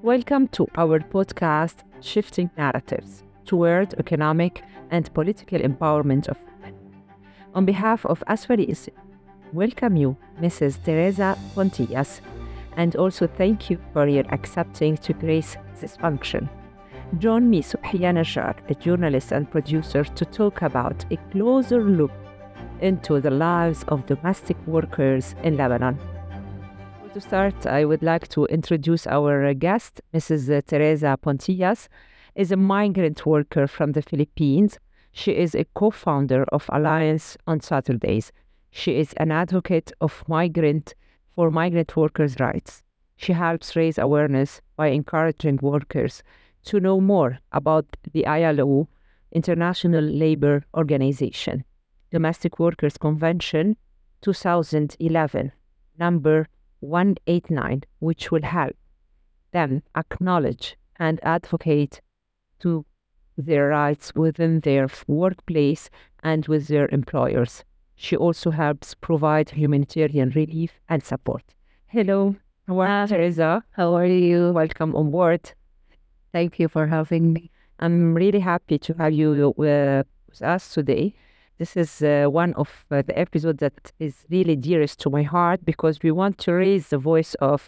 Welcome to our podcast, Shifting Narratives Toward Economic and Political Empowerment of Women. On behalf of Asfaris, welcome you, Mrs. Teresa Pontillas, and also thank you for your accepting to grace this function. Join me, Subhiya Najjar, a journalist and producer, to talk about a closer look into the lives of domestic workers in Lebanon. To start, I would like to introduce our guest. Mrs. Teresa Pontillas is a migrant worker from the Philippines. She is a co-founder of Alliance on Saturdays. She is an advocate for migrant workers' rights. She helps raise awareness by encouraging workers to know more about the ILO, International Labour Organization, Domestic Workers Convention 2011, number 189, which will help them acknowledge and advocate to their rights within their workplace and with their employers. She also helps provide humanitarian relief and support. Hello, how are you, Teresa? How are you? Welcome on board. Thank you for having me. I'm really happy to have you with us today. This is one of the episodes that is really dearest to my heart because we want to raise the voice of,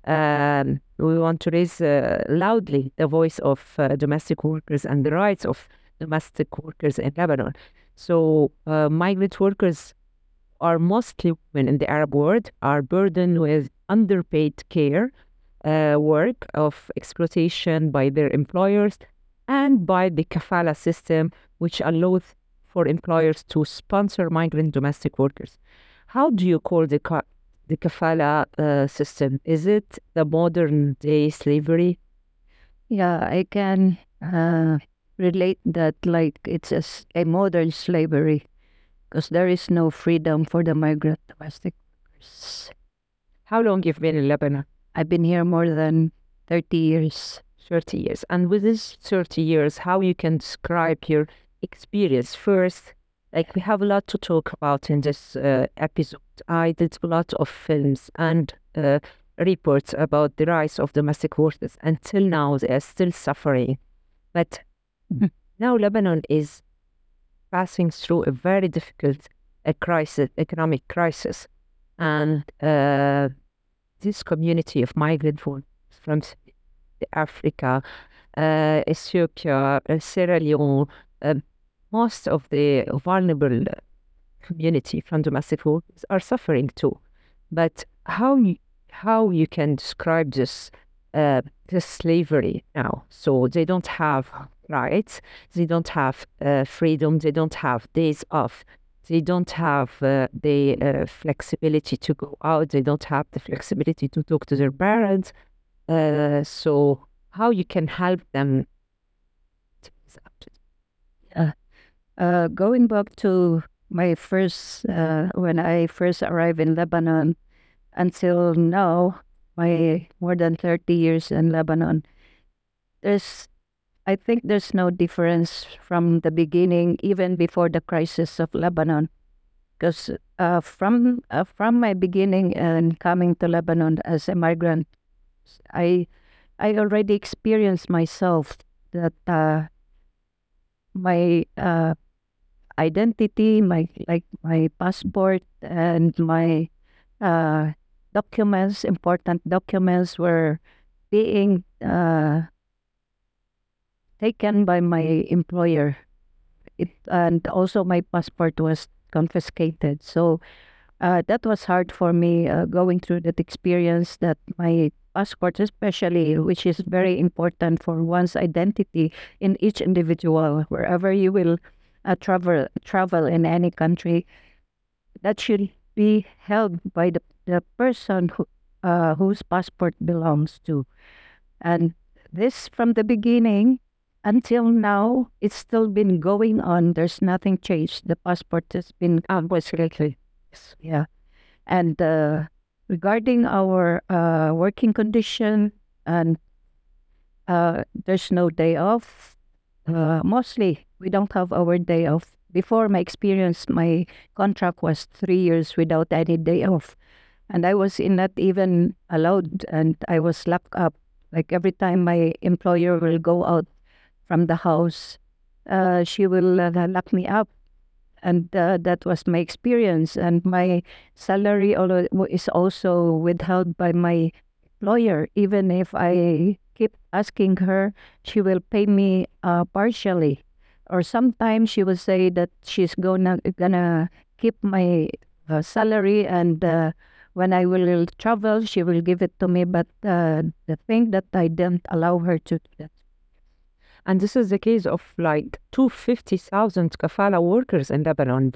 loudly the voice of domestic workers and the rights of domestic workers in Lebanon. So migrant workers are mostly women in the Arab world, are burdened with underpaid care, work of exploitation by their employers and by the kafala system, which allows for employers to sponsor migrant domestic workers. How do you call the kafala system? Is it the modern day slavery? Yeah, I can relate that like it's a modern slavery because there is no freedom for the migrant domestic workers. How long you've been in Lebanon? I've been here more than 30 years. 30 years. And with this 30 years, how you can describe your experience first? Like we have a lot to talk about in this episode. I did a lot of films and reports about the rights of domestic workers. Until now, they are still suffering. But now Lebanon is passing through a very difficult economic crisis. And this community of migrant workers from Africa, Ethiopia, Sierra Leone, most of the vulnerable community from domestic workers are suffering too. But how you can describe this slavery now? So they don't have rights, they don't have freedom, they don't have days off, they don't have the flexibility to go out, they don't have the flexibility to talk to their parents. So how you can help them? Going back to my first, when I first arrived in Lebanon until now, my more than 30 years in Lebanon, I think there's no difference from the beginning, even before the crisis of Lebanon. Because from my beginning and coming to Lebanon as a migrant, I already experienced myself that my identity, my passport and my documents, important documents, were being taken by my employer. And also my passport was confiscated. So that was hard for me going through that experience, that my passport especially, which is very important for one's identity in each individual, wherever you will travel in any country, that should be held by the person whose passport belongs to. And this from the beginning until now, it's still been going on. There's nothing changed. The passport has been Absolutely. yeah. And regarding our working condition, and there's no day off. Mostly, we don't have our day off. Before my experience, my contract was 3 years without any day off. And I was not even allowed, and I was locked up Like every time my employer will go out from the house, she will lock me up. And that was my experience. And my salary is also withheld by my employer. Even if I keep asking her, she will pay me partially. Or sometimes she will say that she's gonna keep my salary, and when I will travel, she will give it to me. But the thing that I didn't allow her to do that. And this is the case of like 250,000 kafala workers in Lebanon.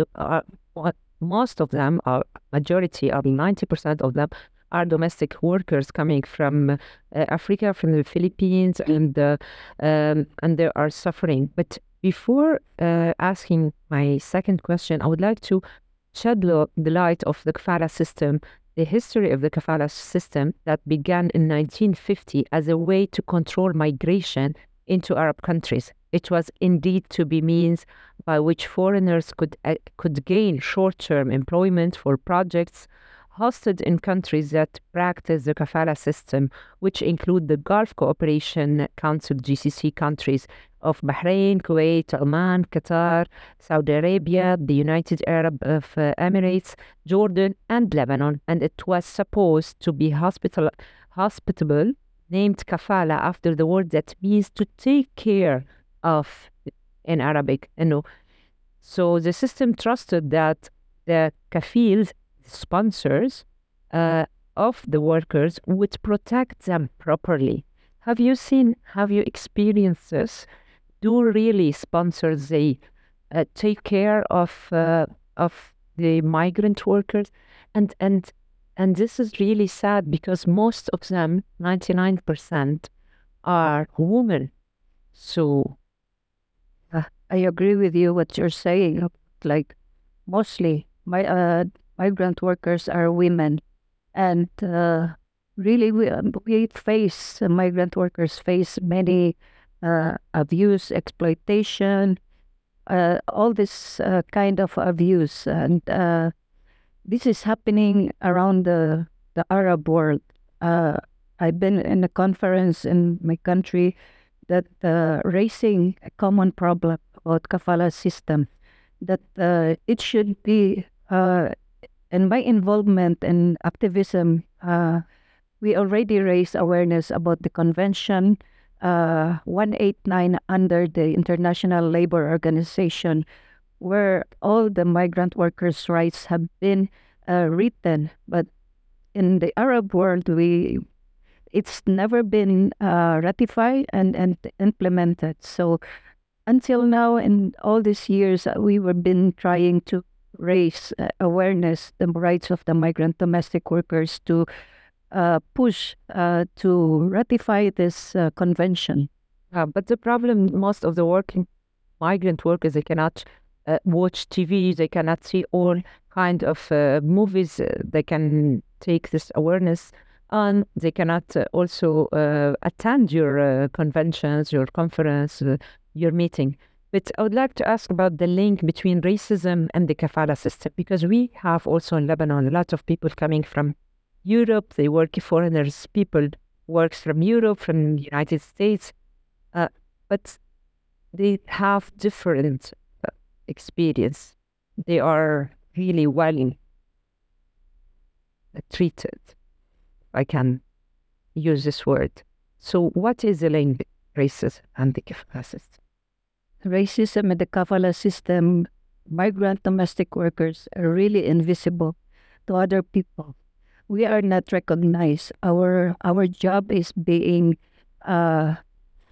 Most of them are, majority of 90% of them are domestic workers coming from Africa, from the Philippines, and they are suffering. But before asking my second question, I would like to shed the light of the kafala system, the history of the kafala system that began in 1950 as a way to control migration into Arab countries. It was indeed to be means by which foreigners could gain short-term employment for projects hosted in countries that practice the kafala system, which include the Gulf Cooperation Council (GCC) countries of Bahrain, Kuwait, Oman, Qatar, Saudi Arabia, the United Arab Emirates, Jordan, and Lebanon. And it was supposed to be hospitable, named kafala after the word that means to take care of in Arabic. So the system trusted that the kafils, sponsors of the workers, would protect them properly. Have you experienced this? Do really sponsors take care of the migrant workers? And this is really sad because most of them, 99%, are women. So I agree with you what you're saying. Like mostly migrant workers are women, and really migrant workers face many abuse, exploitation, all this kind of abuse, and this is happening around the Arab world. I've been in a conference in my country that raising a common problem about kafala system, that it should be, in my involvement in activism, we already raised awareness about the Convention 189 under the International Labor Organization, where all the migrant workers' rights have been written. But in the Arab world, it's never been ratified and implemented. So until now, in all these years, we have been trying to raise awareness, the rights of the migrant domestic workers, to push to ratify this convention. But the problem, most of the working migrant workers, they cannot watch TV, they cannot see all kind of movies. They can take this awareness, and they cannot also attend your conventions, your conference, your meeting. But I would like to ask about the link between racism and the kafala system, because we have also in Lebanon a lot of people coming from Europe. They work, foreigners, people works from Europe, from the United States, but they have different experience. They are really well treated. I can use this word. So what is the link between racism and the kafala system? Racism and the kafala system, migrant domestic workers are really invisible to other people. We are not recognized. Our job is being not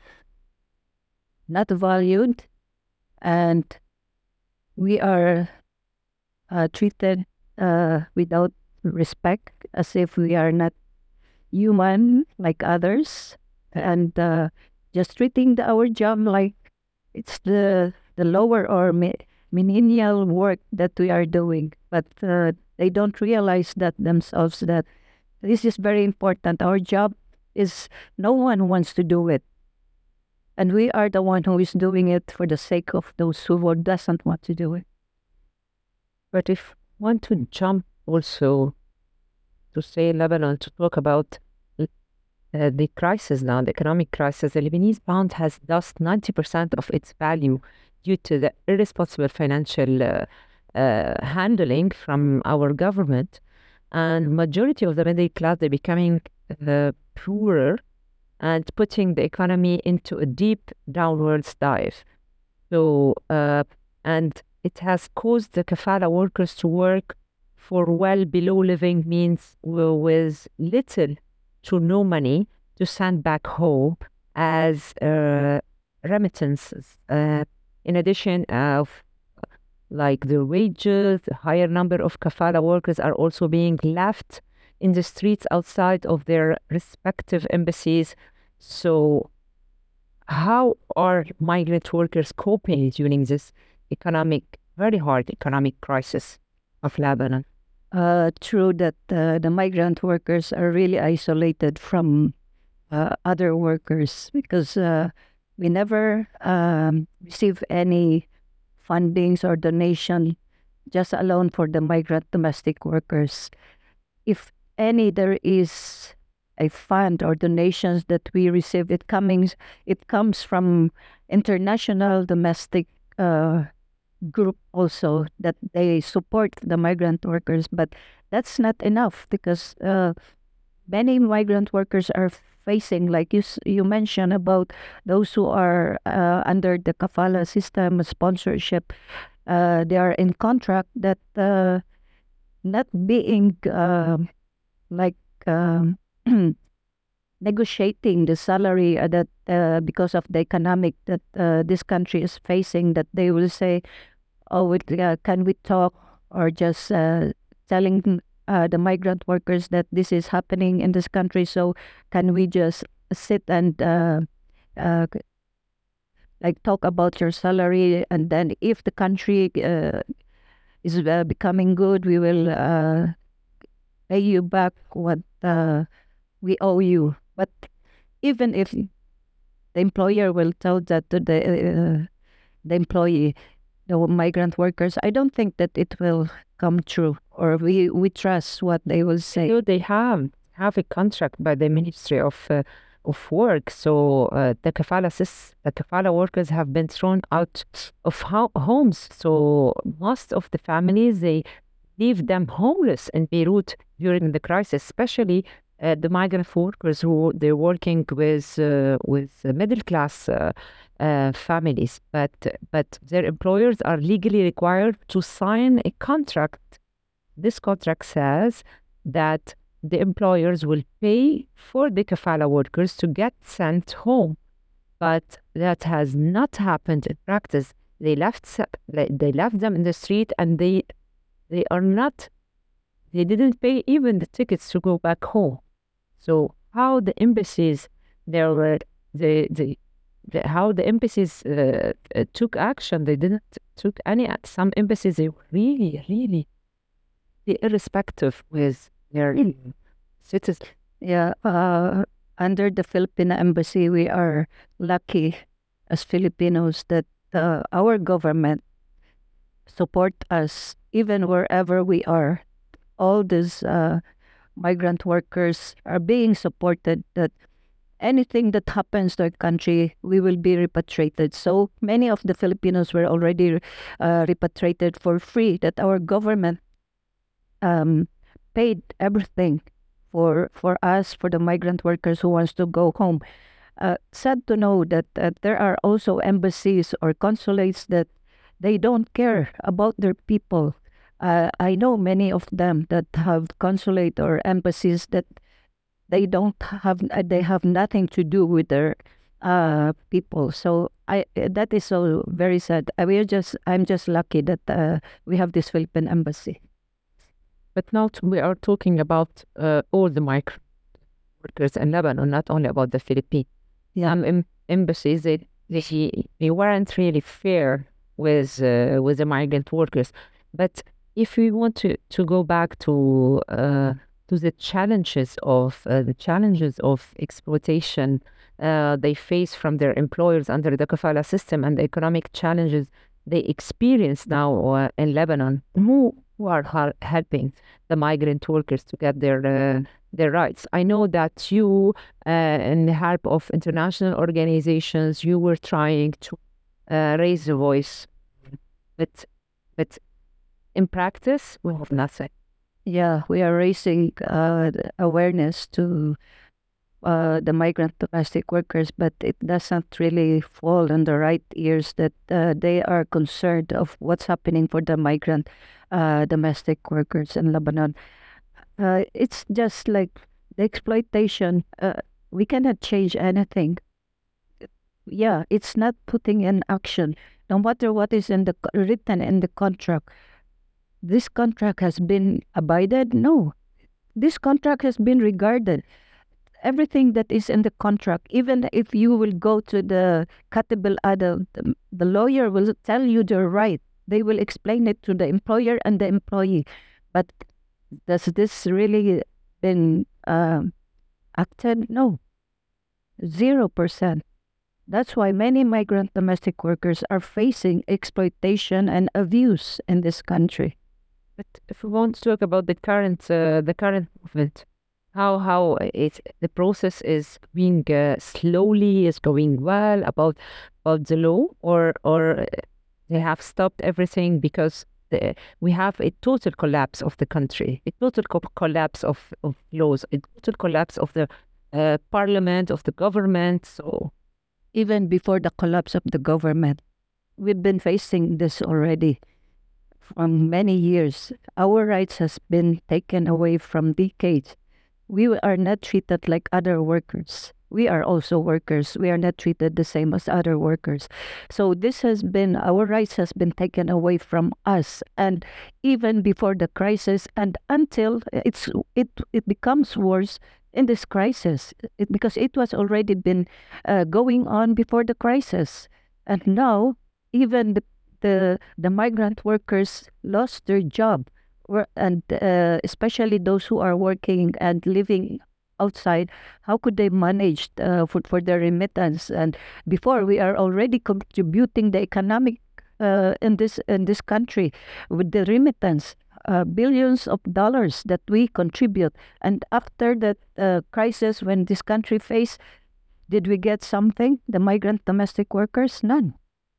valued, and we are treated without respect, as if we are not human like others, and just treating our job like it's the lower or menial work that we are doing. But they don't realize that themselves, that this is very important. Our job is, no one wants to do it, and we are the one who is doing it for the sake of those who doesn't want to do it. But if want to jump also to say Lebanon, to talk about the crisis now, the economic crisis, the Lebanese pound has lost 90% of its value due to the irresponsible financial handling from our government. And majority of the middle class, they're becoming poorer and putting the economy into a deep downwards dive. So, and it has caused the kafala workers to work for well below living means with little to no money to send back home as remittances. In addition of like the wages, a higher number of kafala workers are also being left in the streets outside of their respective embassies. So how are migrant workers coping during this very hard economic crisis of Lebanon? True that the migrant workers are really isolated from other workers because we never receive any fundings or donation just alone for the migrant domestic workers. If any, there is a fund or donations that we receive. It comes from international domestic group also that they support the migrant workers, but that's not enough because many migrant workers are facing, like you mentioned about those who are under the kafala system sponsorship. They are in contract that not being like negotiating the salary that because of the economic that this country is facing, that they will say, oh, can we talk, or just telling the migrant workers that this is happening in this country, so can we just sit and like talk about your salary, and then if the country is becoming good, we will pay you back what we owe you. But even if the employer will tell that to the employee, the migrant workers, I don't think that it will come true, or we trust what they will say. So they have a contract by the Ministry of Work. So the kafala workers have been thrown out of homes. So most of the families, they leave them homeless in Beirut during the crisis, especially the migrant workers who they're working with middle class families, but their employers are legally required to sign a contract. This contract says that the employers will pay for the kafala workers to get sent home, but that has not happened in practice. They left them in the street, and they didn't pay even the tickets to go back home. So how the embassies how the embassies took action? They didn't took any. Some embassies, they were really irrespective with their citizens. Yeah, under the Filipino embassy, we are lucky as Filipinos that our government support us even wherever we are. All these migrant workers are being supported, that anything that happens to a country, we will be repatriated. So many of the Filipinos were already repatriated for free, that our government paid everything for us, for the migrant workers who wants to go home. Sad to know that there are also embassies or consulates that they don't care about their people. I know many of them that have consulate or embassies that they have nothing to do with their people. So that is so very sad. I'm just lucky that we have this Philippine embassy. But now we are talking about all the migrant workers in Lebanon, not only about the Philippines. Yeah. Some embassies, they weren't really fair with the migrant workers. But if we want to go back to the challenges of exploitation they face from their employers under the kafala system, and the economic challenges they experience now in Lebanon, who are helping the migrant workers to get their their rights. I know that you, in the help of international organizations, you were trying to raise the voice, but in practice, we have nothing. Yeah, we are raising awareness to the migrant domestic workers, but it doesn't really fall on the right ears that they are concerned of what's happening for the migrant domestic workers in Lebanon. It's just like the exploitation. We cannot change anything. Yeah, it's not putting in action. No matter what is in the written in the contract, this contract has been abided. No, this contract has been regarded. Everything that is in the contract, even if you will go to the Katib al-Adl, the lawyer will tell you the right. They will explain it to the employer and the employee. But does this really been acted? No, 0%. That's why many migrant domestic workers are facing exploitation and abuse in this country. But if we want to talk about the current movement, how the process is being slowly is going well about the law, or they have stopped everything because we have a total collapse of the country, a total collapse of laws, a total collapse of the parliament, of the government. So even before the collapse of the government, we've been facing this already from many years. Our rights has been taken away from decades. We are not treated like other workers. We are also workers. We are not treated the same as other workers. So this has been, our rights has been taken away from us. And even before the crisis and until it becomes worse in this crisis, because it was already been going on before the crisis. And now even the migrant workers lost their job, and especially those who are working and living outside. How could they manage for their remittance? And before, we are already contributing the economic in this country with the remittance, billions of dollars that we contribute. And after that crisis, when this country faced, did we get something? The migrant domestic workers, none.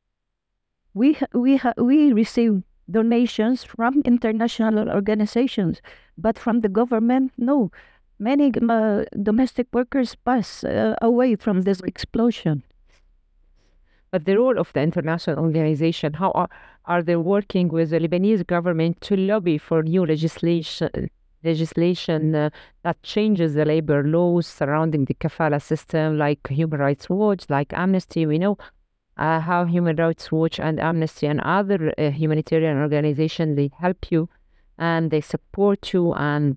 We receive donations from international organizations, but from the government, no. Many domestic workers pass away from this explosion. But the role of the international organization, how are they working with the Lebanese government to lobby for new legislation that changes the labor laws surrounding the kafala system, like Human Rights Watch, like Amnesty? We know how Human Rights Watch and Amnesty and other humanitarian organizations, they help you and they support you and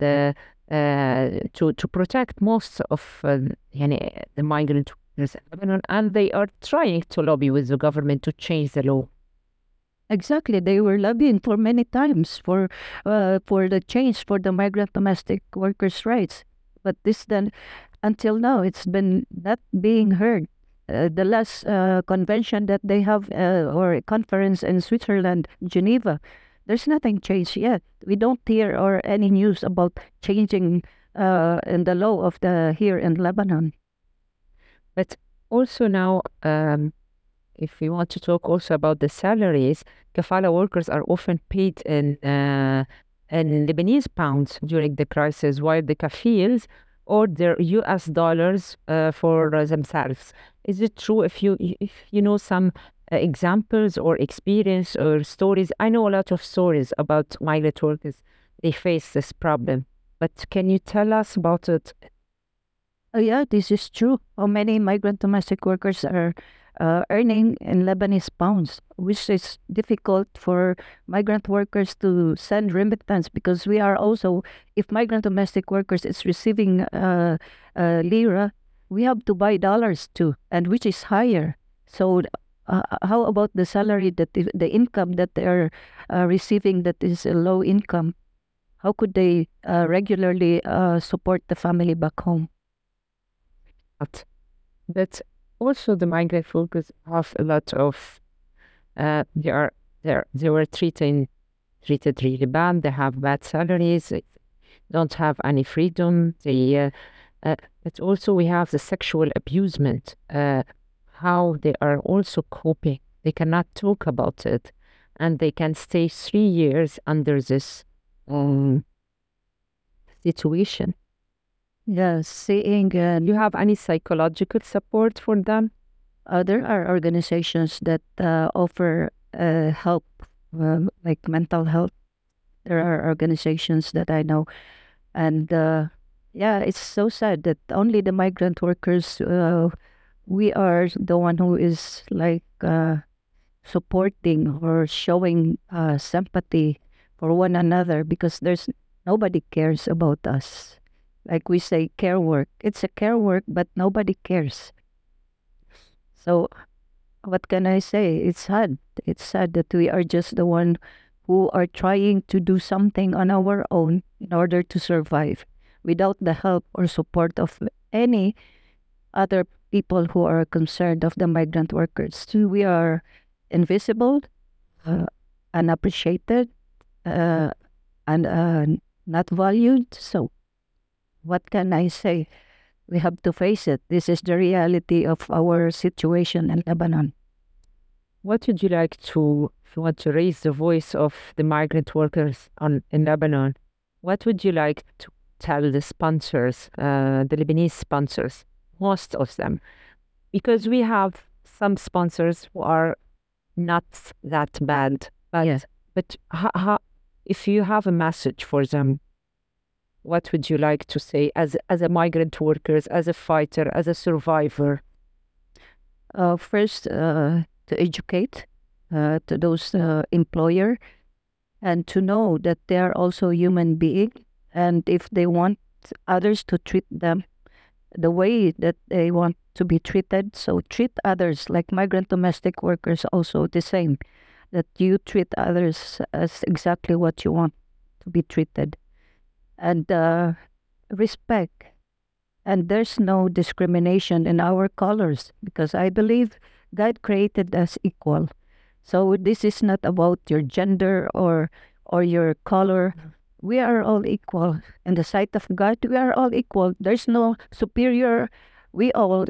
to protect most of the migrant workers in Lebanon, and they are trying to lobby with the government to change the law. Exactly, they were lobbying for many times for the change for the migrant domestic workers' rights, but this then until now it's been not being heard. The last convention that they have or a conference in Switzerland, Geneva, there's nothing changed yet. We don't hear or any news about changing in the law of the here in Lebanon. But also now, if we want to talk also about the salaries, kafala workers are often paid in Lebanese pounds during the crisis, while the kafils or their US dollars for themselves. Is it true? If you know some examples or experience or stories, I know a lot of stories about migrant workers. They face this problem, but can you tell us about it? Yeah, this is true. How many migrant domestic workers are earning in Lebanese pounds, which is difficult for migrant workers to send remittance, because we are also, if migrant domestic workers is receiving lira, we have to buy dollars too, and which is higher. So how about the salary that the income that they are receiving that is a low income? How could they regularly support the family back home? But also the migrant workers have a lot of they were treated really bad. They have bad salaries. don't have any freedom. But also we have the sexual abusement, how they are also coping. They cannot talk about it, and they can stay 3 years under this situation. Yes, seeing Do you have any psychological support for them? there are organizations that offer help, like mental health. There are organizations that I know, and yeah, it's so sad that only the migrant workers, we are the one who is like supporting or showing sympathy for one another, because there's nobody cares about us. Like we say, care work. It's a care work, but nobody cares. So what can I say? It's sad. It's sad that we are just the one who are trying to do something on our own in order to survive without the help or support of any other people who are concerned of the migrant workers. So we are invisible, uh, unappreciated, and not valued. So what can I say? We have to face it. This is the reality of our situation in Lebanon. What would you like to, if you want to raise the voice of the migrant workers in Lebanon, what would you like to tell the sponsors, the Lebanese sponsors, most of them? Because we have some sponsors who are not that bad, but, Yes. but if you have a message for them, what would you like to say as a migrant workers, as a fighter, as a survivor? First, to educate to those employer, and to know that they are also human being, and if they want others to treat them the way that they want to be treated, so treat others like migrant domestic workers also the same, that you treat others as exactly what you want to be treated, and respect. And there's no discrimination in our colors, because I believe God created us equal. So this is not about your gender or your color. We are all equal in the sight of God. We are all equal. There's no superior. We all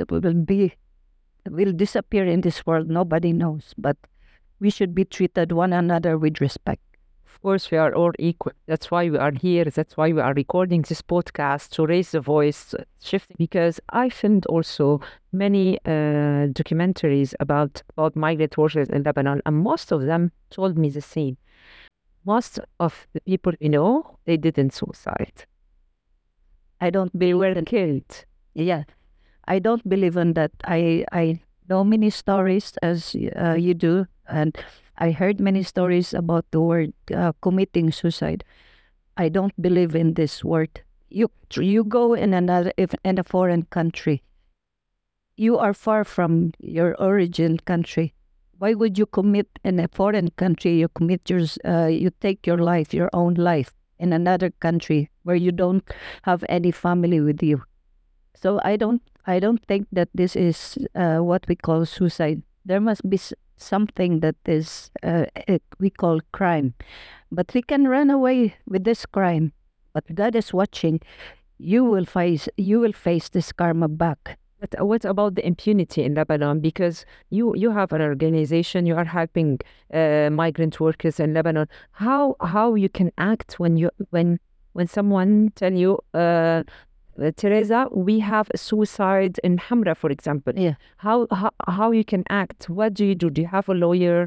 will disappear in this world. Nobody knows, but we should be treated one another with respect. Of course, we are all equal. That's why we are here. That's why we are recording this podcast to raise the voice, shifting. Because I filmed also many documentaries about migrant workers in Lebanon, and most of them told me the same. Most of the people we know, they didn't suicide. I don't They believe were in, killed. yeah, I don't believe in that. I know many stories as you do, and I heard many stories about the word committing suicide. I don't believe in this word. You go in in a foreign country. You are far from your origin country. Why would you commit in a foreign country? You take your life, your own life, in another country where you don't have any family with you. So I don't think that this is what we call suicide. There must be something that is we call crime, but we can run away with this crime. But God is watching. You will face this karma back. But what about the impunity in Lebanon? Because you have an organization, you are helping migrant workers in Lebanon. How you can act when someone tell you, Teresa, we have a suicide in Hamra, for example. Yeah. How you can act? What do you do? Do you have a lawyer?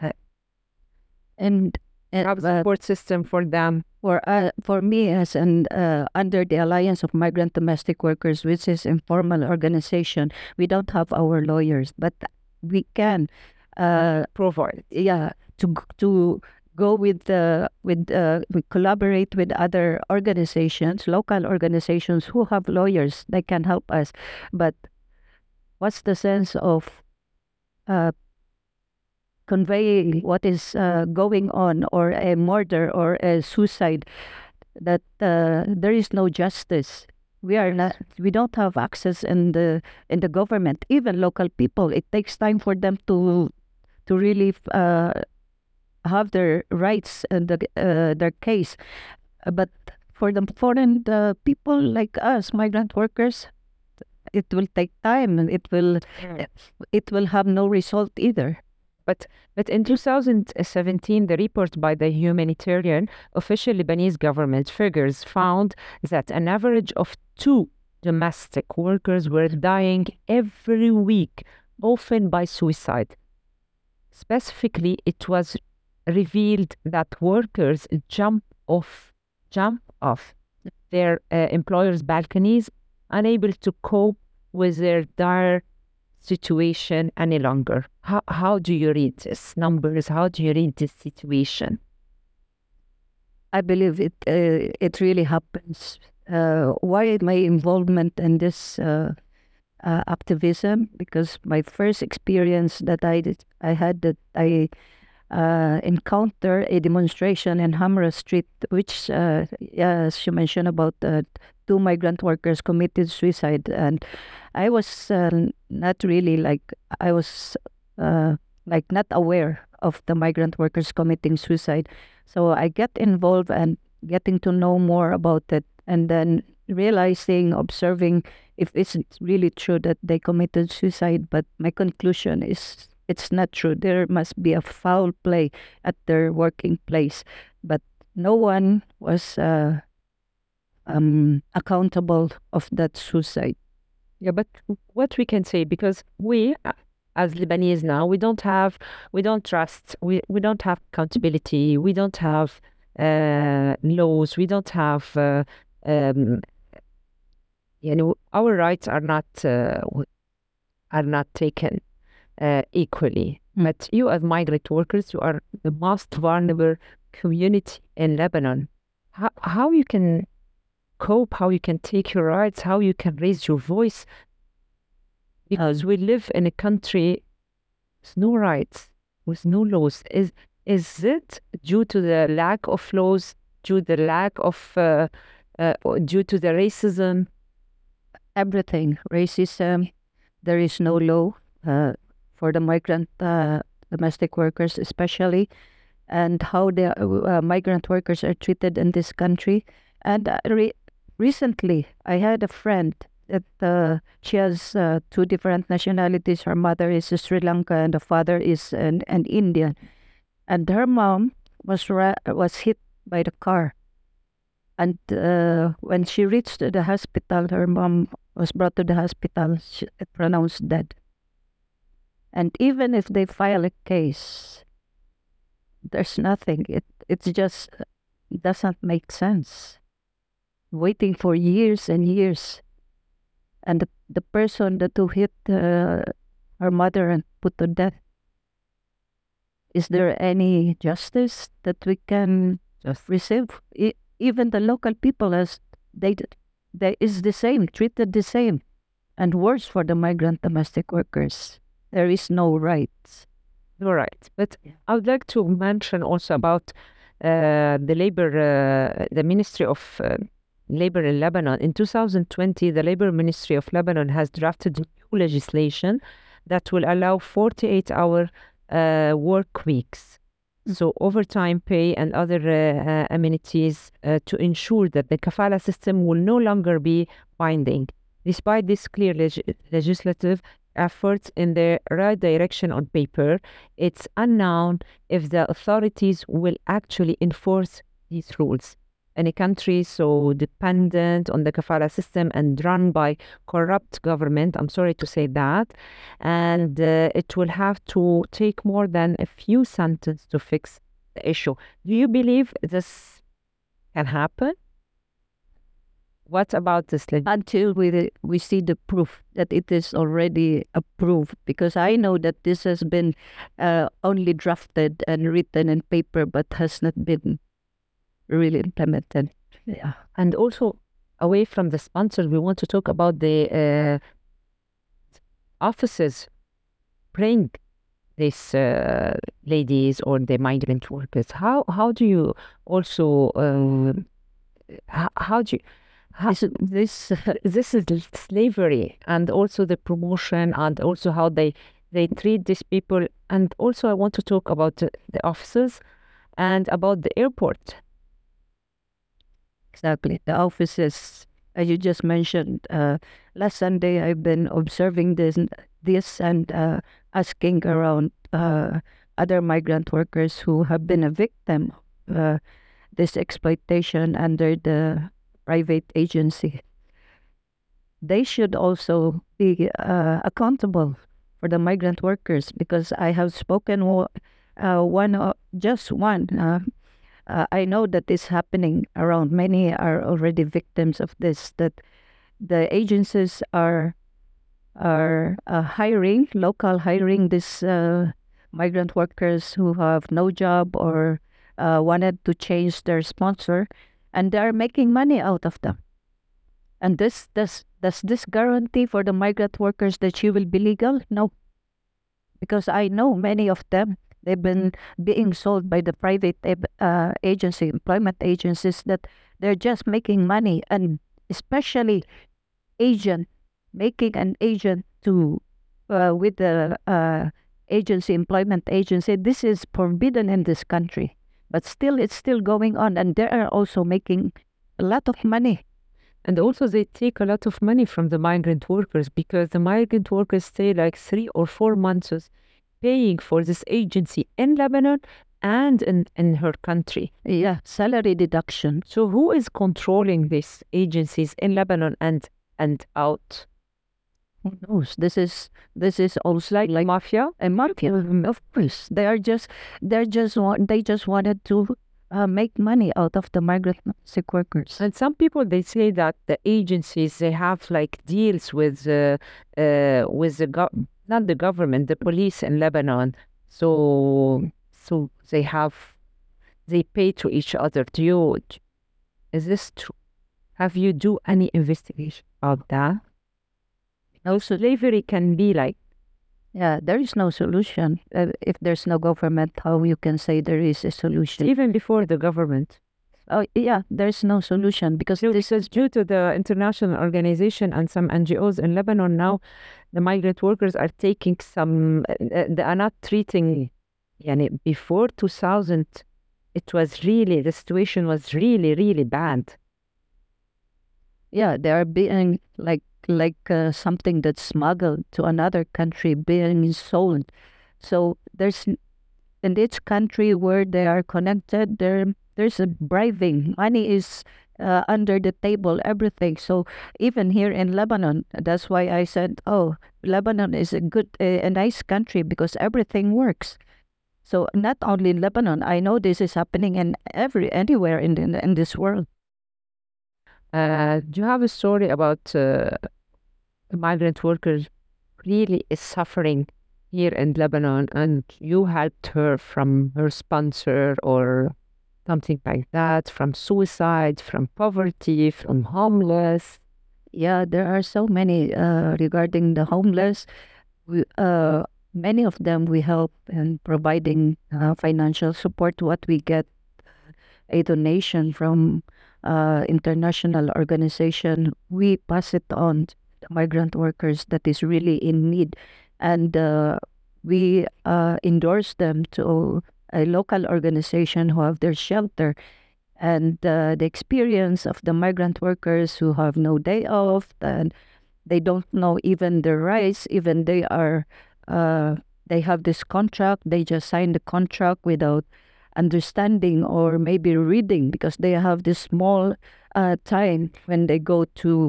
And Have a support system for them? for me, as an under the Alliance of Migrant Domestic Workers, which is informal organization, we don't have our lawyers, but we can Provide. yeah, to go with we collaborate with other organizations, local organizations who have lawyers. They can help us. But what's the sense of conveying what is going on, or a murder or a suicide, that there is no justice? We don't have access in the government, even local people. It takes time for them to really have their rights and their case. But for the foreign people like us, migrant workers, it will take time, and it will have no result either. But in 2017, the report by the humanitarian official Lebanese government figures found that an average of 2 domestic workers were dying every week, often by suicide. Specifically, it was revealed that workers jump off their employers' balconies, unable to cope with their dire situation any longer. How do you read these numbers? How do you read this situation? I believe it really happens. Why my involvement in this activism? Because my first experience that I encountered a demonstration in Hamra Street, which, as you mentioned about 2 migrant workers committed suicide, and I was not really I was not aware of the migrant workers committing suicide. So I get involved and getting to know more about it, and then observing if it's really true that they committed suicide. But my conclusion is it's not true. There must be a foul play at their working place, but no one was accountable of that suicide. Yeah, but what we can say, because we as Lebanese now, we don't trust, we don't have accountability, we don't have laws, we don't have, our rights are not taken equally. But you as migrant workers, you are the most vulnerable community in Lebanon. How you can cope, how you can take your rights, how you can raise your voice, because we live in a country with no rights, with no laws. Is it due to the lack of laws, due to the racism? Everything. Racism. There is no law for the migrant domestic workers especially, and how the migrant workers are treated in this country. And recently, I had a friend that she has 2 different nationalities. Her mother is Sri Lanka and the father is an Indian. And her mom was hit by the car. And when she reached the hospital, her mom was brought to the hospital, pronounced dead. And even if they file a case, there's nothing. It just doesn't make sense. Waiting for years and years. And the person who hit her mother and put to death, is there any justice that we can receive? Even the local people, they is the same, treated the same, and worse for the migrant domestic workers. There is no rights. No rights. But I would like to mention also about the Ministry of Labor in Lebanon. In 2020, the Labor Ministry of Lebanon has drafted new legislation that will allow 48-hour work weeks. So overtime pay and other amenities to ensure that the kafala system will no longer be binding. Despite this clear legislative efforts in the right direction on paper, it's unknown if the authorities will actually enforce these rules. In a country so dependent on the kafala system and run by corrupt government, I'm sorry to say that, and it will have to take more than a few sentences to fix the issue. Do you believe this can happen? What about this? Until we see the proof that it is already approved, because I know that this has been only drafted and written in paper, but has not been really implemented. Yeah. And also, away from the sponsors, we want to talk about the offices bring these ladies or the migrant workers. How do you also how do you this is slavery, and also the promotion, and also how they treat these people. And also I want to talk about the offices and about the airport. Exactly. The offices, as you just mentioned, last Sunday I've been observing this and asking around other migrant workers who have been a victim of this exploitation under the private agency. They should also be accountable for the migrant workers, because I have spoken just one. I know that is happening around. Many are already victims of this. That the agencies are hiring these migrant workers who have no job or wanted to change their sponsor, and they are making money out of them. And does this guarantee for the migrant workers that she will be legal? No, because I know many of them. They've been being sold by the private employment agencies, that they're just making money, and especially making an agent to with the employment agency. This is forbidden in this country, but still it's still going on, and they are also making a lot of money. And also they take a lot of money from the migrant workers, because the migrant workers stay like 3 or 4 months paying for this agency in Lebanon and in her country. Yeah, salary deduction. So who is controlling these agencies in Lebanon and out? Who knows? This is also like Mafia? a mafia. Of course, they just wanted to make money out of the migrant sick workers. And some people, they say that the agencies, they have like deals with not the government, the police in Lebanon. So they pay to each other. Is this true? Have you do any investigation about that? No, slavery can be like. Yeah, there is no solution. If there's no government, how you can say there is a solution? Even before the government. Oh, yeah, there's no solution, because this is due to the international organization and some NGOs in Lebanon. Now, the migrant workers are taking they are not treating, before 2000, the situation was really, really bad. Yeah, they are being like something that's smuggled to another country, being sold. So there's, in each country where they are connected, there's a bribing. Money is under the table, everything. So even here in Lebanon, that's why I said, oh, Lebanon is a nice country, because everything works. So not only in Lebanon, I know this is happening anywhere in this world. Do you have a story about a migrant worker really is suffering here in Lebanon, and you helped her from her sponsor or something like that, from suicide, from poverty, from homeless? Yeah, there are so many regarding the homeless. Many of them we help in providing financial support. What we get a donation from international organization, we pass it on to the migrant workers that is really in need, and we endorse them to a local organization who have their shelter. And the experience of the migrant workers who have no day off, and they don't know even their rights, even they have this contract, they just sign the contract without understanding or maybe reading, because they have this small time when they go to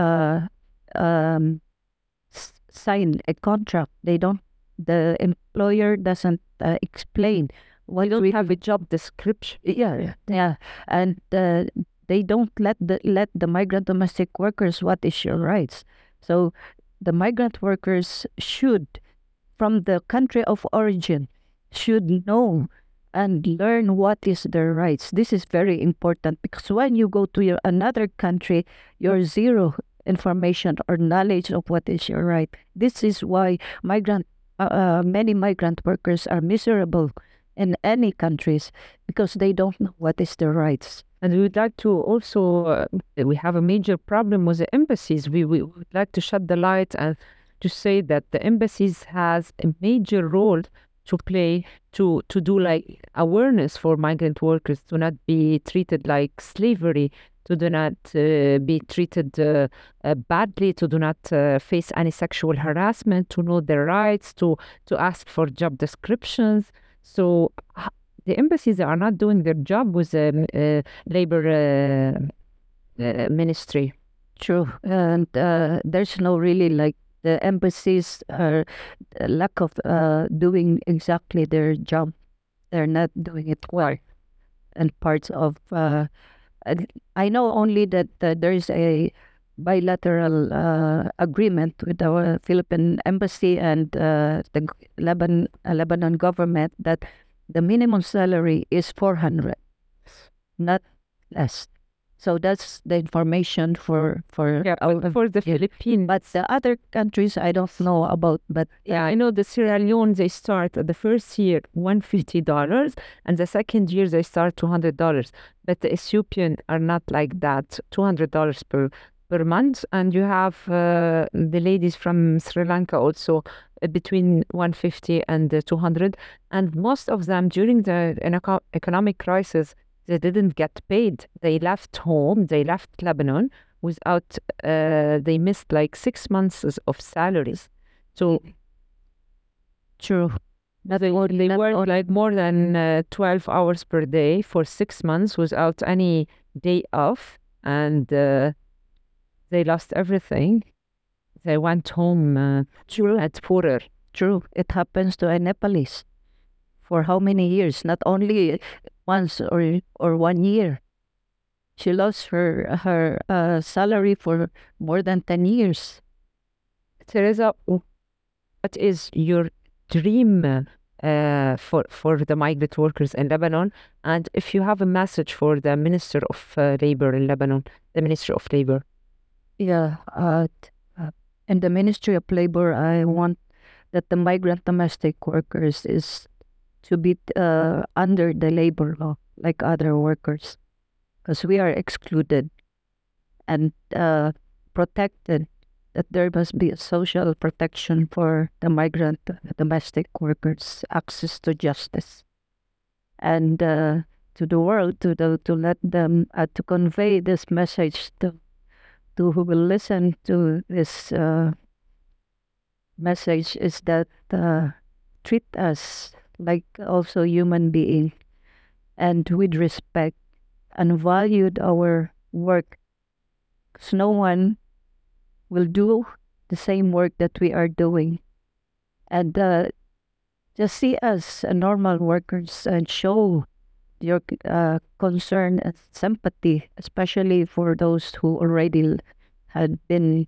sign a contract. The employer doesn't explain. Why don't we have a job description? Yeah, and they don't let the migrant domestic workers what is your rights. So the migrant workers should, from the country of origin, should know and learn what is their rights. This is very important, because when you go to another country, you're zero information or knowledge of what is your right. This is why many migrant workers are miserable in any countries, because they don't know what is their rights. And we would like to also, we have a major problem with the embassies. We would like to shed the light and to say that the embassies has a major role to play to do like awareness for migrant workers to not be treated like slavery, to do not be treated badly, to do not face any sexual harassment, to know their rights, to ask for job descriptions. So the embassies are not doing their job with the labor ministry. True. And there's no really like the embassies are lack of doing exactly their job. They're not doing it well. And parts of I know only that there is a bilateral agreement with the Philippine embassy and the Lebanon government that the minimum salary is 400, not less. So that's the information for For the Philippines. But the other countries I don't know about. But yeah, I know the Sierra Leone, they start the first year $150, and the second year they start $200. But the Ethiopian are not like that, $200 per month. And you have the ladies from Sri Lanka also between 150 and 200. And most of them during the economic crisis, they didn't get paid. They left home, they left Lebanon without, they missed like 6 months of salaries. So, true. they worked like more than 12 hours per day for 6 months without any day off. And they lost everything. They went home at poorer. True. It happens to a Nepalese. For how many years? Not only once or 1 year. She lost her salary for more than 10 years. Teresa, what is your dream for the migrant workers in Lebanon? And if you have a message for the Minister of Labor in Lebanon, the Ministry of Labor. Yeah, in the Ministry of Labor, I want that the migrant domestic workers is to be under the labor law like other workers, because we are excluded and protected, that there must be a social protection for the migrant domestic workers, access to justice, and to the world, to let them to convey this message to who will listen to this message, is that treat us like also human being and with respect, and valued our work, because no one will do the same work that we are doing. And just see us normal workers and show your concern and sympathy, especially for those who already had been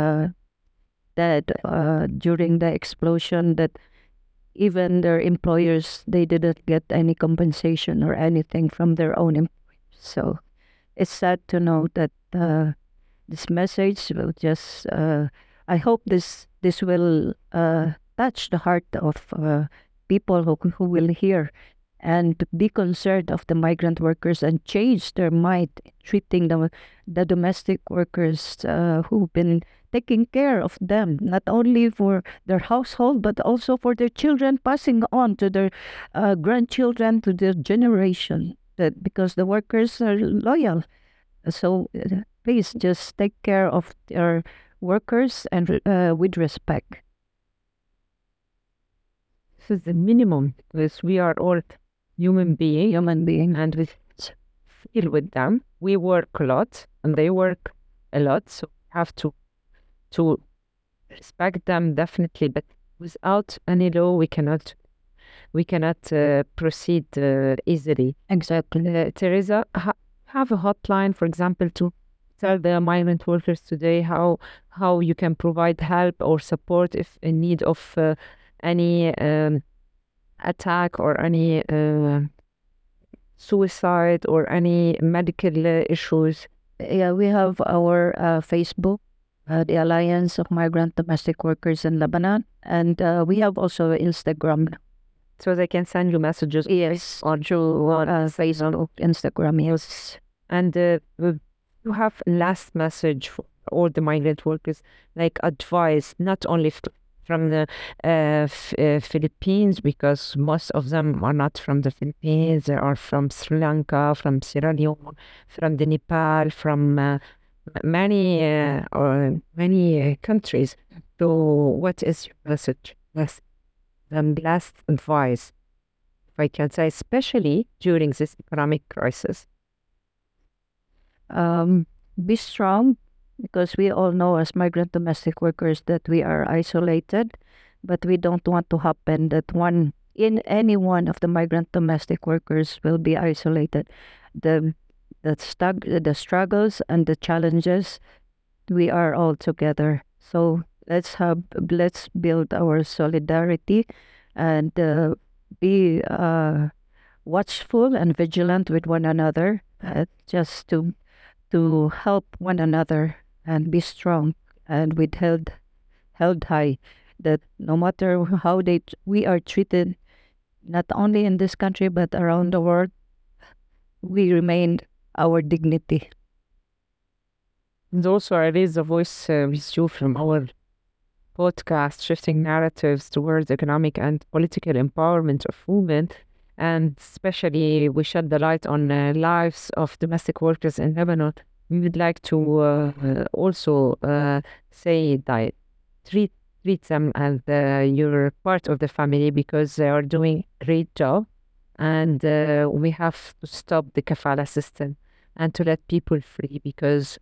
dead during the explosion, that even their employers, they didn't get any compensation or anything from their own employers. So it's sad to know that this message will just, I hope this will touch the heart of people who will hear and be concerned of the migrant workers and change their mind, treating the domestic workers who've been taking care of them, not only for their household, but also for their children, passing on to their grandchildren, to their generation, because the workers are loyal. So please just take care of their workers and with respect. This is the minimum, because we are all human beings, and we feel with them. We work a lot and they work a lot, so we have to respect them, definitely. But without any law, we cannot proceed easily. Exactly. Teresa, have a hotline, for example, to tell the migrant workers today how you can provide help or support if in need of any attack or any suicide or any medical issues. Yeah, we have our Facebook, the Alliance of Migrant Domestic Workers in Lebanon, and we have also Instagram. So they can send you messages. Yes, on Facebook, Instagram, yes. And you have last message for all the migrant workers, like advice, not only from the Philippines, because most of them are not from the Philippines. They are from Sri Lanka, from Sierra Leone, from the Nepal, from many countries. So, what is your message? Last advice, if I can say, especially during this economic crisis? Be strong, because we all know as migrant domestic workers that we are isolated, but we don't want to happen that any one of the migrant domestic workers will be isolated. The the struggles and the challenges, we are all together. So let's build our solidarity and be watchful and vigilant with one another, just to help one another and be strong and with held high, that no matter how we are treated, not only in this country but around the world, we remain our dignity. And also, I raise the voice with you from our podcast, Shifting Narratives Towards Economic and Political Empowerment of Women. And especially, we shed the light on lives of domestic workers in Lebanon. We would like to also say that treat them as you're part of the family, because they are doing a great job. And we have to stop the kafala system and to let people free, because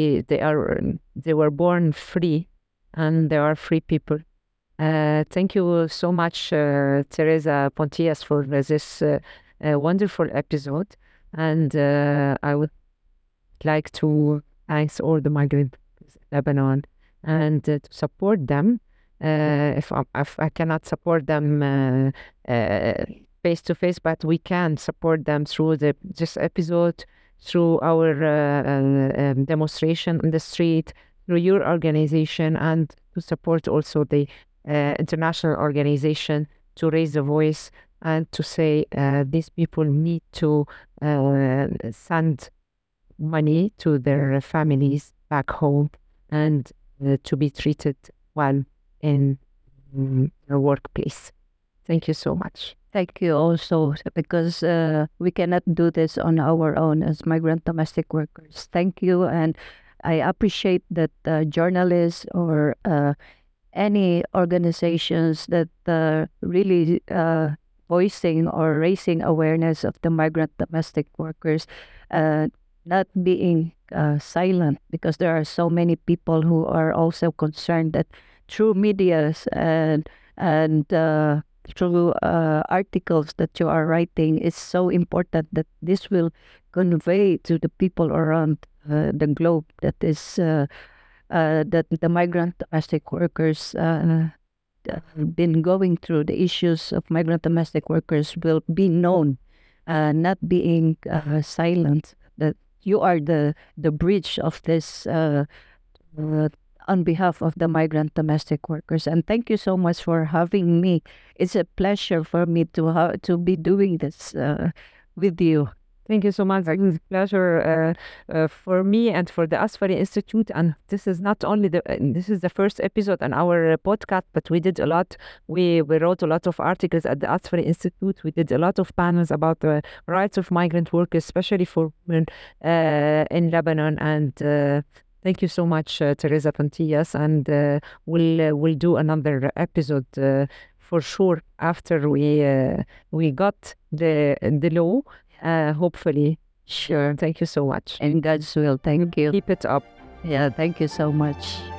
they were born free, and they are free people. Thank you so much, Teresa Pontias, for this wonderful episode. And I would like to thank all the migrants in Lebanon and to support them. If I cannot support them face to face, but we can support them through this episode, through our demonstration on the street, through your organization, and to support also the international organization to raise the voice and to say these people need to send money to their families back home, and to be treated well in their workplace. Thank you so much. Thank you also, because we cannot do this on our own as migrant domestic workers. Thank you, and I appreciate that journalists or any organizations that really voicing or raising awareness of the migrant domestic workers, not being silent, because there are so many people who are also concerned that through medias and through articles that you are writing, it's so important that this will convey to the people around the globe that is that the migrant domestic workers been going through. The issues of migrant domestic workers will be known, not being silent, that you are the bridge of this on behalf of the migrant domestic workers. And thank you so much for having me. It's a pleasure for me to be doing this with you. Thank you so much. It's a pleasure for me and for the Asfari Institute. And this is not only this is the first episode on our podcast, but we did a lot. We wrote a lot of articles at the Asfari Institute. We did a lot of panels about the rights of migrant workers, especially for women in Lebanon. And thank you so much, Teresa Pontias. And we'll do another episode for sure after we got the law. Hopefully. Sure. Thank you so much. In God's will. Thank you. Keep it up. Yeah, thank you so much.